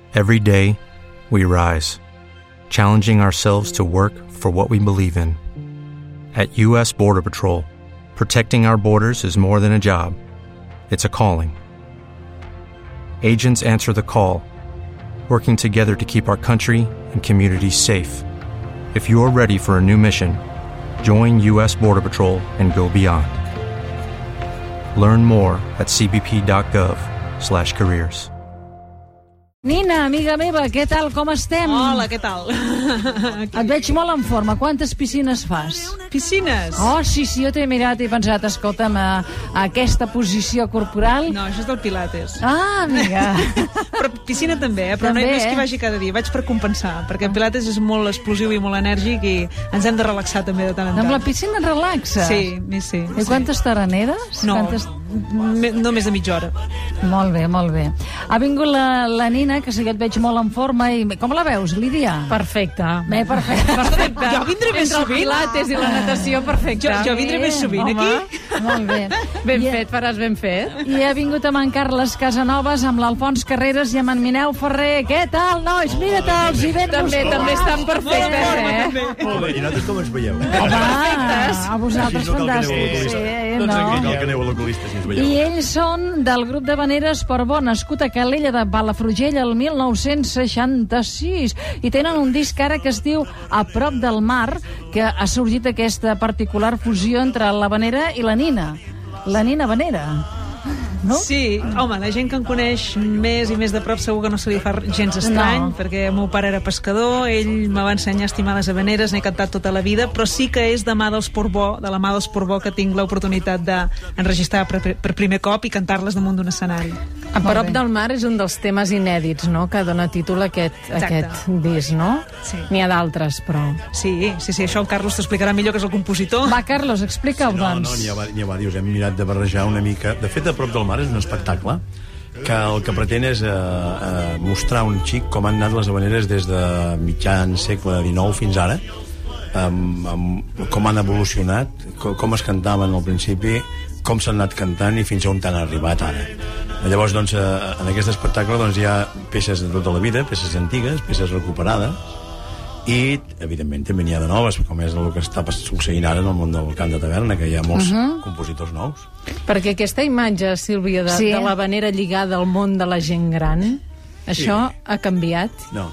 Every day, we rise, challenging ourselves to work for what we believe in. At U.S. Border Patrol, protecting our borders is more than a job. It's a calling. Agents answer the call, working together to keep our country and communities safe. If you are ready for a new mission, join U.S. Border Patrol and go beyond. Learn more at cbp.gov/careers. Nina, amiga meva, què tal, com estem? Hola, què tal? Et veig molt en forma. Quantes piscines fas? Piscines? Oh, sí, jo t'he mirat i he pensat, escolta'm, aquesta posició corporal... No, això és del Pilates. Ah, amiga. Però piscina també, però també, no és que vagi cada dia, vaig per compensar, perquè el Pilates és molt explosiu i molt enèrgic i ens hem de relaxar també de tant en tant. Amb la piscina et relaxes? Sí, sí. I quantes t'araneres? No, no més de mitja hora. Molt bé, molt bé. Ha vingut la Nina, que sí que et veig molt en forma. I com la veus, Lídia? Perfecte. Perfecte. Jo vindré més sovint. Entre el pilates i la natació, perfecte. Jo vindré més sovint aquí. Molt bé. Ben fet, faràs ben fet. I ha vingut amb en Carles Casanovas, amb l'Alfons Carreras i amb en Mineu Ferrer. Què tal, nois? Mira-te'ls i ben També estan perfectes, Molt bé, i nosaltres com ens veieu? Home, a vosaltres fantàstics. No cal que aneu a l'oculista si ens veieu. I ells són del grup de Vaneres Portbó, nascut a Calella de Palafrugell el 1966, i tenen un disc ara que es diu A prop del mar, que ha sorgit aquesta particular fusió entre la Vanera i la Nina. La Nina Vanera. No? Sí, home, la gent que em coneix més i més de prop segur que no se li fa gens estrany, perquè el meu pare era pescador, ell me va ensenyar a estimar les habaneres, n'he cantat tota la vida, però sí que és de la mà dels Portbó que tinc l'oportunitat d'enregistrar per primer cop i cantar-les damunt d'un escenari. A prop del mar és un dels temes inèdits, no?, que dona títol a aquest disc, no? Sí. N'hi ha d'altres, però... Sí, això el Carlos t'explicarà millor, que és el compositor. Va, Carlos, explica-ho, doncs. No, n'hi ha diversos. Hem mirat de barrejar una mica. De fet, A prop del mar és un espectacle que el que pretén és mostrar un xic com han anat les habaneres des de mitjan segle XIX fins ara, com han evolucionat, com es cantaven al principi, com s'han anat cantant i fins on han arribat ara. Llavors, doncs, en aquest espectacle doncs, hi ha peces de tota la vida, peces antigues, peces recuperades, i, evidentment, també n'hi ha de noves, com és el que està succeint ara en el món del cant de taverna, que hi ha molts compositors nous. Perquè aquesta imatge, Sílvia, de la vanera lligada al món de la gent gran, això ha canviat? No.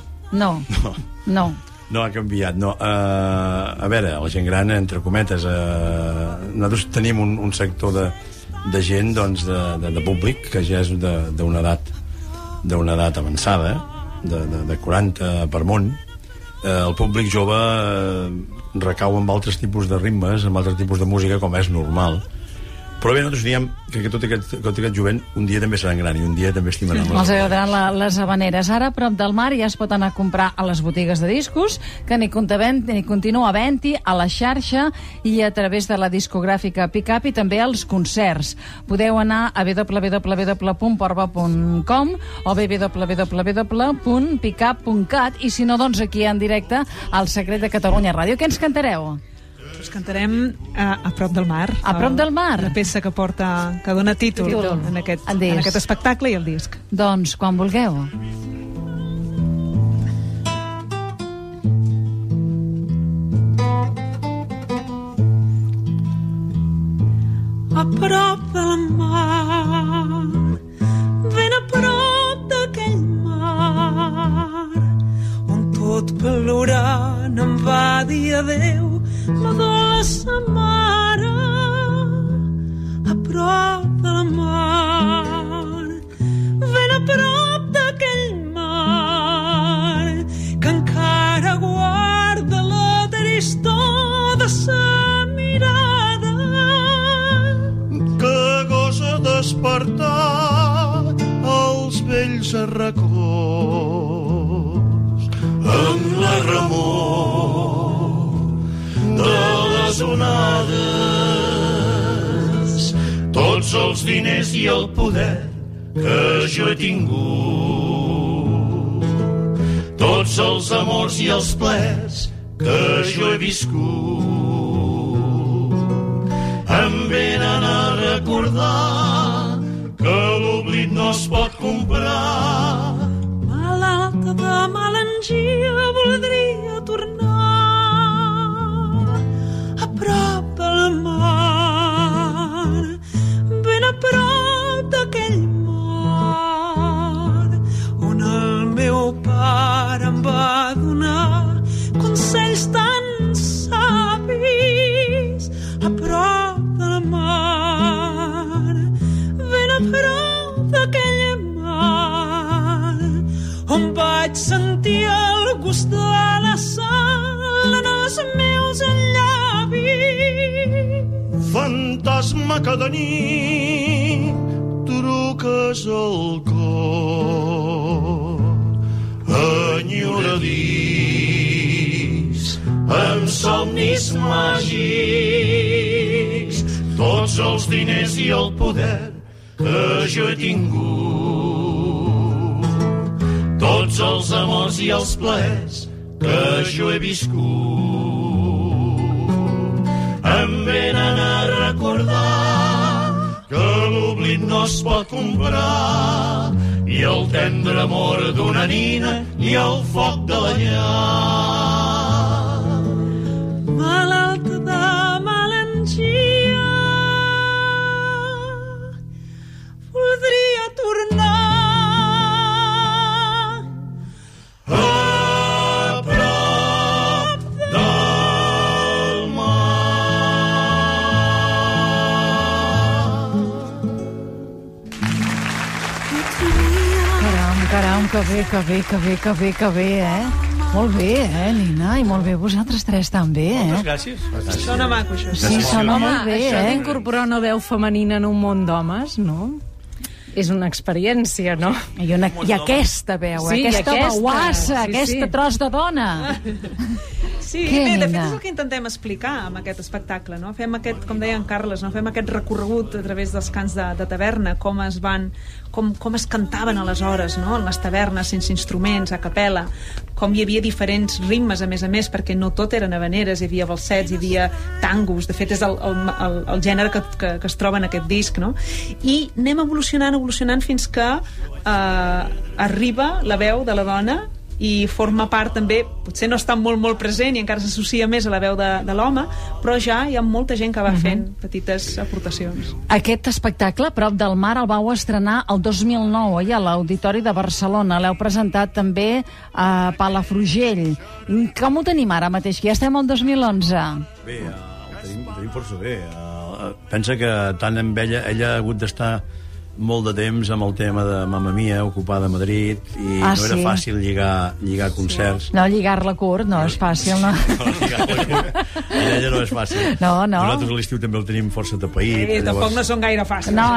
No ha canviat, no. A veure, la gent gran, entre cometes, nosaltres tenim un sector de gent, doncs, de públic, que ja és d'una edat avançada, de 40 per munt. El públic jove recau amb altres tipus de ritmes, amb altres tipus de música, com és normal. Però bé, nosaltres diem que tot aquest jovent un dia també seran gran i un dia també estimaran els agradaran les habaneres. Ara, a prop del mar, ja es pot anar a comprar a les botigues de discos, que ni continua havent-hi a la xarxa i a través de la discogràfica Pickup, i també als concerts. Podeu anar a www.portbó.com o www.pickup.cat, i si no, doncs aquí en directe al Secret de Catalunya Ràdio. Què ens cantareu? Us cantarem A prop del mar. A prop del mar? La peça que dona títol en aquest espectacle i el disc. Doncs, quan vulgueu. A prop del mar, ben a prop d'aquell mar, on tot plorant em va dir adeu la dolça mare. A prop del mar, ben a prop d'aquell mar, que encara guarda la tristor de sa mirada, que gosa despertar els vells arracons amb la remor de les onades, tots els diners i el poder que jo he tingut, tots els amors i els plers que jo he viscut, em venen a recordar que l'oblit no es pot comprar. Malalt on vaig sentir el gust de la sal en els meus llavis. Fantasma que de nit truques al cor, enyoradís, amb somnis màgics, tots els diners i el poder que jo he tingut, tots els amors i els plaers que jo he viscut, em venen a recordar que l'oblit no es pot comprar, ni el tendre amor d'una nina, ni el foc de la llar. Malalt de melangia, voldria tornar a prop del mar. Caram, que bé, eh? Molt bé, Nina? I molt bé vosaltres tres també, Moltes gràcies. Sona maco, això. Sí, sona molt bé, Això d'incorporar una veu femenina en un món d'homes, no? És una experiència, no? I aquesta veu, Sí, aquesta aquesta, bauassa, sí, aquesta sí. tros de dona. Sí, Què, bé, de fet Nina? és el que intentem explicar amb aquest espectacle, no? Fem aquest, com deia en Carles, no? Fem aquest recorregut a través dels cants de taverna, com es cantaven aleshores, no? En les tavernes, sense instruments, a capella, com hi havia diferents ritmes, a més, perquè no tot eren habaneres, hi havia balsets, hi havia tangos, de fet és el gènere que es troba en aquest disc, no? I anem evolucionant fins que arriba la veu de la dona i forma part també, potser no està molt present i encara s'associa més a la veu de l'home, però ja hi ha molta gent que va fent petites aportacions. Aquest espectacle, Prop del mar, el vau estrenar el 2009, oi, a l'Auditori de Barcelona. L'heu presentat també a Palafrugell. Com ho tenim ara mateix, que ja estem al 2011? Bé, ho tenim força bé. Pensa que tant amb ella ha hagut d'estar molt de temps amb el tema de Mamma Mia, ocupada a Madrid, i no era fàcil lligar concerts. No, lligar-la curt no és fàcil, no? Ella no és fàcil. No. Nosaltres a l'estiu també el tenim força tapaït. Tampoc no són gaire fàcils. No,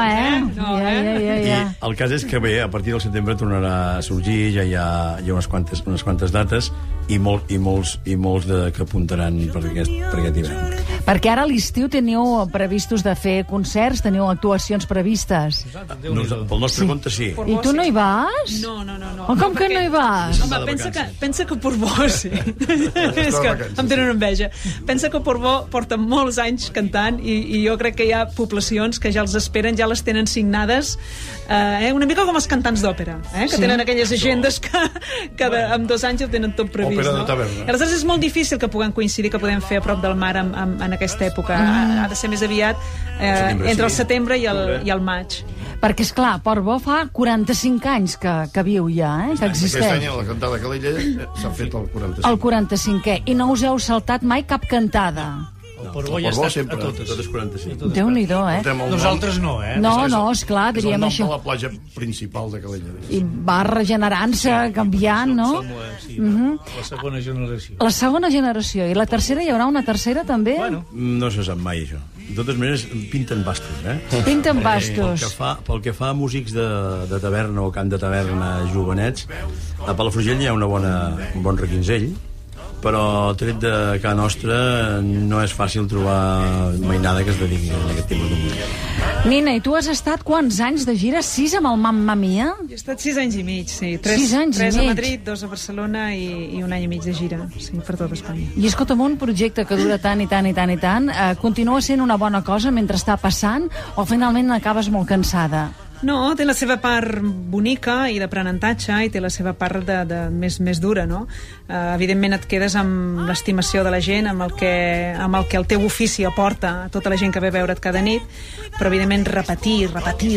I el cas és que bé, a partir del setembre tornarà a sorgir, ja hi ha unes quantes dates i molts que apuntaran per aquest hivern. Perquè ara a l'estiu teniu previstos de fer concerts, teniu actuacions previstes. Pel nostre compte, sí. I tu no hi vas? No. Com que no hi vas? Home, pensa que Portbó, sí. És que em tenen enveja. Pensa que Portbó porta molts anys cantant i jo crec que hi ha poblacions que ja els esperen, ja les tenen signades, una mica com els cantants d'òpera, que tenen aquelles agendes que en 2 anys ho tenen tot previst. Òpera de taverna. Aleshores és molt difícil que puguem coincidir, que podem fer a prop del mar en aquesta època. Ha de ser més aviat entre el setembre i el maig. Perquè, esclar, Portbó fa 45 anys que viu ja, que existeix. Aquest any a la cantada Calella s'ha fet el 45. El 45è. I no us heu saltat mai cap cantada? El Portbó ja ha estat a totes. Totes 45. Déu-n'hi-do, Nosaltres no, No, esclar, diríem això. És el nom això. de la platja principal de Calella. I va regenerant-se, canviant, no? La segona generació. La segona generació. I la tercera, hi haurà una tercera, també? No se sap mai, això. De totes maneres, pinten bastos, Pinten bastos. Pel que fa a músics de taverna o cant de taverna jovenets, a Palafrugell hi ha un bon requinzell, però tret de casa nostra no és fàcil trobar mainada que es dediqui a aquest tipus de música. Nina, i tu has estat quants anys de gira? 6 amb el Mamma Mia? Jo he estat 6 anys i mig, sí. 6 anys i 3 a mig. Madrid, 2 a Barcelona i 1 any i mig de gira, sí, per tot Espanya. I escolta'm, un projecte que dura tant i tant, continua sent una bona cosa mentre està passant o finalment acabes molt cansada? No, té la seva part bonica i d'aprenentatge i té la seva part de més dura, no? Evidentment et quedes amb l'estimació de la gent, amb el que el teu ofici aporta a tota la gent que ve a veure't cada nit, però evidentment repetir.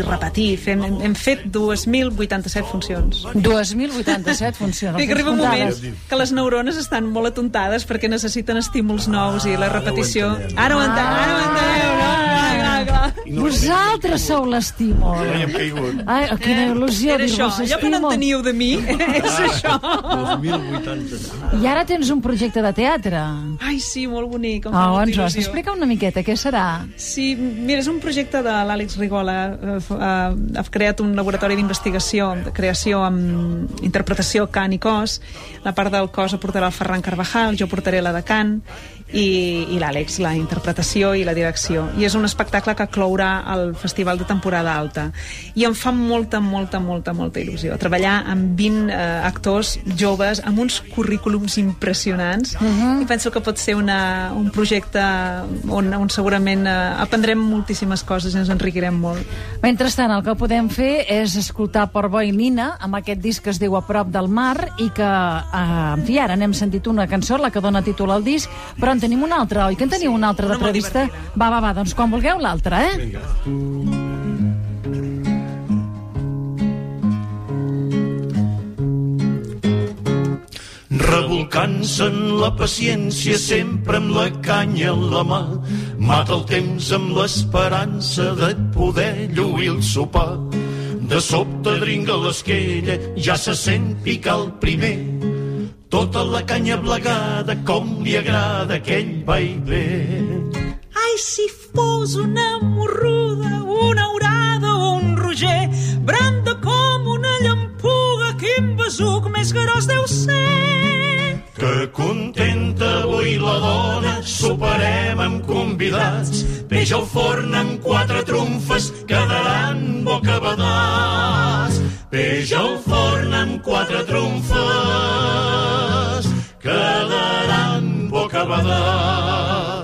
Hem fet 2.087 funcions. 2.087 funcions. I que arriba un moment que les neurones estan molt atontades perquè necessiten estímuls nous i la repetició... Ara ho enteneu, no? Clar. Vosaltres sou l'estímul. Hi hem caigut. Ai, quina il·lusió Era això, dir-vos allò que no en estímul. teniu de mi, és això. 2080. I ara tens un projecte de teatre. Ai, sí, molt bonic, em fa molta Ens ho has il·lusió. d'explicar una miqueta, què serà? Sí, mira, és un projecte de l'Àlex Rigola. Ha creat un laboratori d'investigació, de creació amb interpretació cant i cos. La part del cos la portarà el Ferran Carvajal, jo portaré la de cant, i l'Àlex, la interpretació i la direcció. I és un espectacle que clourà el Festival de Temporada Alta. I em fa molta il·lusió treballar amb 20 actors joves amb uns currículums impressionants, i penso que pot ser un projecte on segurament aprendrem moltíssimes coses i ens enriquirem molt. Mentrestant, el que podem fer és escoltar Portbó i Nina amb aquest disc que es diu A prop del mar i que, en fi, ara n'hem sentit una cançó, la que dona títol al disc, però en tenim una altra, oi? Que en teniu una altra de prevista? Va, doncs quan vulgueu l'altra, eh? Vinga. Revolcant-se en la paciència, sempre amb la canya en la mà, mata el temps amb l'esperança de poder lluir el sopar. De sobte dringa l'esquella, ja se sent picar el primer, tota la canya blegada, com li agrada aquell vaivé. Ai, si fos una morruda, una aurada o un roger, branda com una llampuga, quin besuc més gros deu ser. Que contenta avui la dona, soparem amb convidats, peix al forn amb 4 trumfes, quedaran bocabadats. Peix al forn amb 4 trumfes, quedaran bocabadats.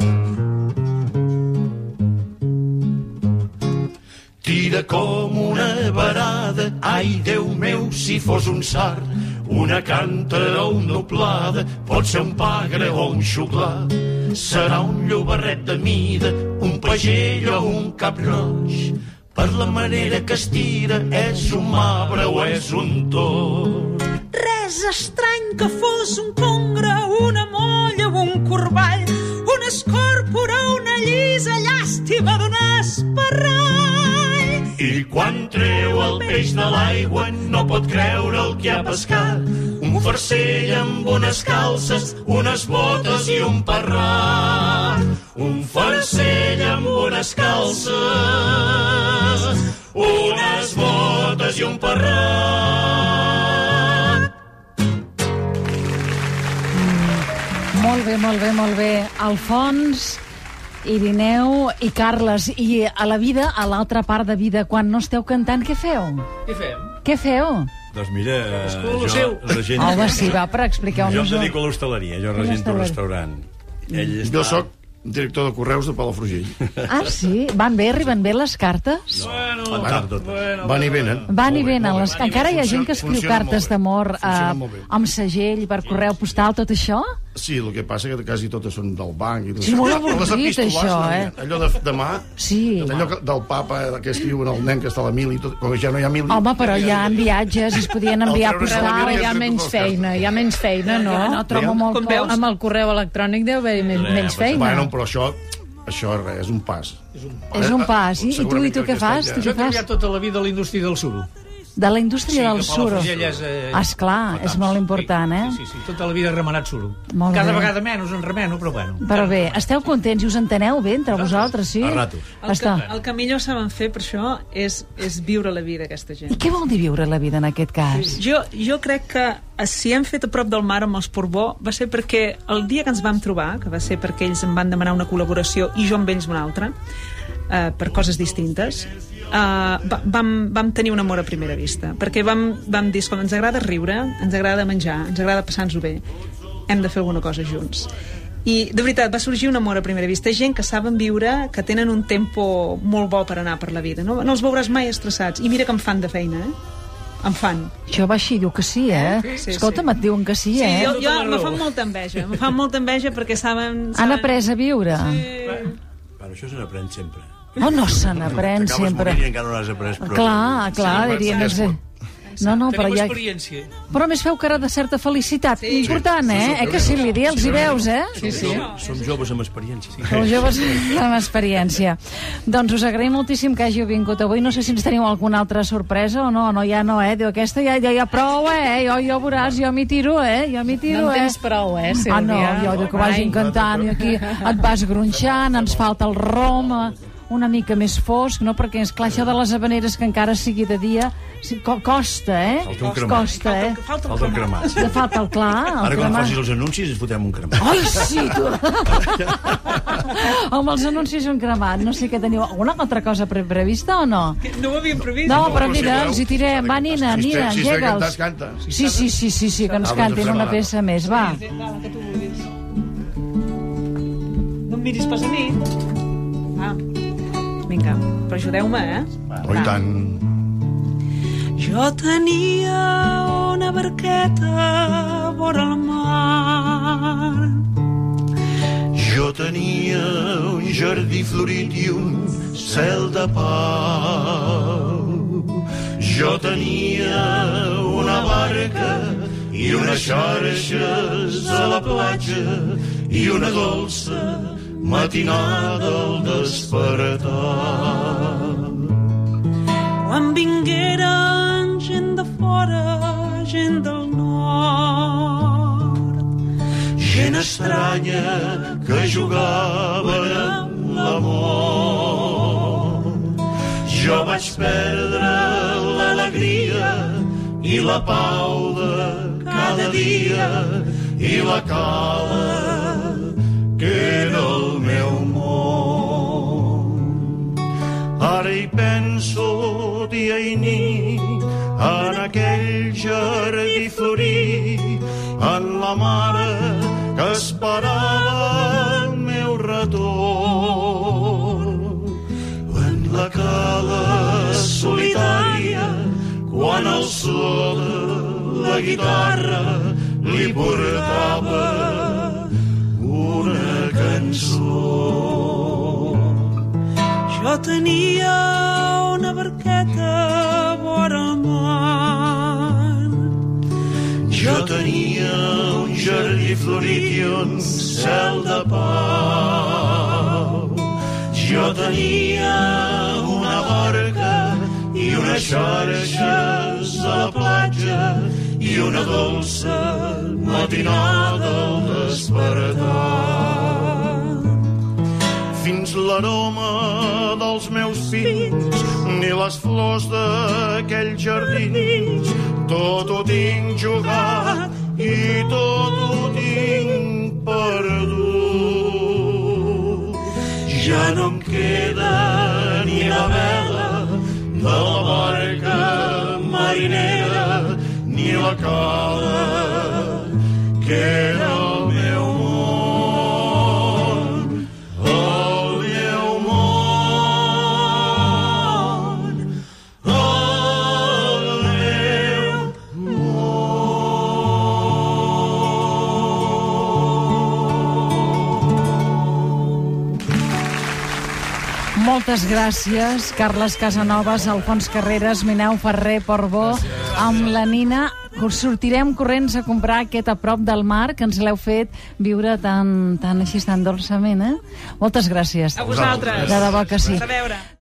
Tira com una varada, ai, Déu meu, si fos un sard, una càntera o una oplada, pot ser un pagre o un xuclar. Serà un llobarret de mida, un pagell o un cap roig. Per la manera que es tira, és un marbre o és un tord. Res estrany que fos un congre, una molla o un corball, una escòrpora, una llisa, llàstima d'un esparrall. I quan treu el peix de l'aigua no pot creure el que ha pescat. Un farcell amb unes calces, unes botes i un parrat. Un farcell amb unes calces, unes botes i un parrat. Molt bé. Alfons, Irineu i Carles. I a la vida, a l'altra part de vida, quan no esteu cantant, què feu? Què feu? Doncs mira, seu. Home, sí, va, però expliqueu-nos-ho. Jo em dedico a l'hostaleria, jo regento un restaurant. Jo sóc director de correus de Palafrugell. Ah, sí? Van bé? Arriben bé les cartes? Van i venen. Van i venen. Encara hi ha gent que escriu cartes d'amor amb segell per correu postal, tot això? Sí, el que passa que quasi totes són del banc. I tot. Sí, molt Les avorrit, epístoles, això, allò de mà, Sí. allò del papa que escriuen el nen que està a la mili, com que ja no hi ha mili. Home, però hi ha viatges i es podien enviar El treure de la postal. mili Hi ha menys feina, no? No, trobo molt Com veus? Amb el correu electrònic deu haver menys feina. Bueno, però això és res, és un pas. És un pas. I tu què fas? Jo he treballat tota la vida a la indústria del suro. De la indústria del suro. És, esclar, és molt important, eh? Sí, tota la vida he remenat suro. Molt Cada bé. vegada menys en remeno, però bueno. Però bé, esteu contents i us enteneu bé entre vosaltres, sí? A ratos. El que millor saben fer per això és viure la vida, aquesta gent. I què vol dir viure la vida en aquest cas? Jo crec que si hem fet a prop del mar amb els Portbó va ser perquè el dia que ens vam trobar, que va ser perquè ells em van demanar una col·laboració i jo amb ells una altra, per coses distintes, vam tenir un amor a primera vista, perquè vam dir, escolta, ens agrada riure, ens agrada menjar, ens agrada passar-nos-ho bé, hem de fer alguna cosa junts. I de veritat va sorgir un amor a primera vista, gent que saben viure, que tenen un tempo molt bo per anar per la vida, no els veuràs mai estressats, i mira que em fan de feina, em fan. Això va així, diu que sí, eh? Sí, Escolta'm, et diuen que sí, eh? Sí, jo me fan molta enveja, perquè saben... Han après a viure. Bueno, això se n'aprèn sempre. Oh, no se n'aprèn sempre. T'acabes morint i encara no l'has après. Clar, diria més... No, però Tenim ja... experiència. Però a més feu cara de certa felicitat. Important, que sí, Lídia, els hi veus, Sí. Som joves amb experiència. Sou joves amb experiència. Doncs us agraïm moltíssim que hàgiu vingut avui. No sé si ens teniu alguna altra sorpresa o no. No, ja no, Diu, aquesta ja prou, Jo veuràs, jo m'hi tiro, Jo m'hi tiro, No en tens prou, Sílvia? No, jo dic que vagin cantant i aquí et vas gronxant, ens falta el rom, una mica més fosc, no? Perquè, esclar, això de les habaneres que encara sigui de dia costa, Falta un cremat. Costa, Falta el cremat. Falta el clar, Ara quan facis els anuncis ens fotem un cremat. Ai, sí, tu! Amb els anuncis un cremat. No sé què teniu. Alguna altra cosa prevista o no? No ho havíem previst. No, però mira, els hi tirem. Va, Nina, engega'ls. Canta. Sí, que ens cantin una peça més. Va. Que tu vulguis. No em miris pas a mi. Va. Vinga, però ajudeu-me, Oh, i tant. Jo tenia una barqueta vora el mar. Jo tenia un jardí florit i un cel de pau. Jo tenia una barca i unes xarxes a la platja i una dolça matinada al despertar. Quan vingueren gent de fora, gent del nord, gent estranya que jugaven amb l'amor. Jo vaig perdre l'alegria i la pau de cada dia i la cala que era el meu món. Ara hi penso dia i nit en aquell jardí florit, en la mare que esperava el meu retorn, en la cala solitària quan el so de la guitarra li portava una cançó. jo tenia una barqueta vora el mar. Jo tenia un jardí florit i un cel de pau. Jo tenia una barca i unes xarxes a la platja i una dolça matinada al despertar. Fins l'aroma dels meus fills ni les flors d'aquells jardins, tot ho tinc jugat i tot ho tinc perdut. Ja no em queda ni la vela de la barca marinera ni la cala que era el meu món. El meu món. El meu Moltes gràcies, Carles Casanovas, Alfons Carreras, Mineu Ferrer, Portbó, amb la Nina. Sortirem corrents a comprar aquest A prop del mar, que ens l'heu fet viure tan així, tan dolçament, Moltes gràcies. A vosaltres. De debò que sí. A veure.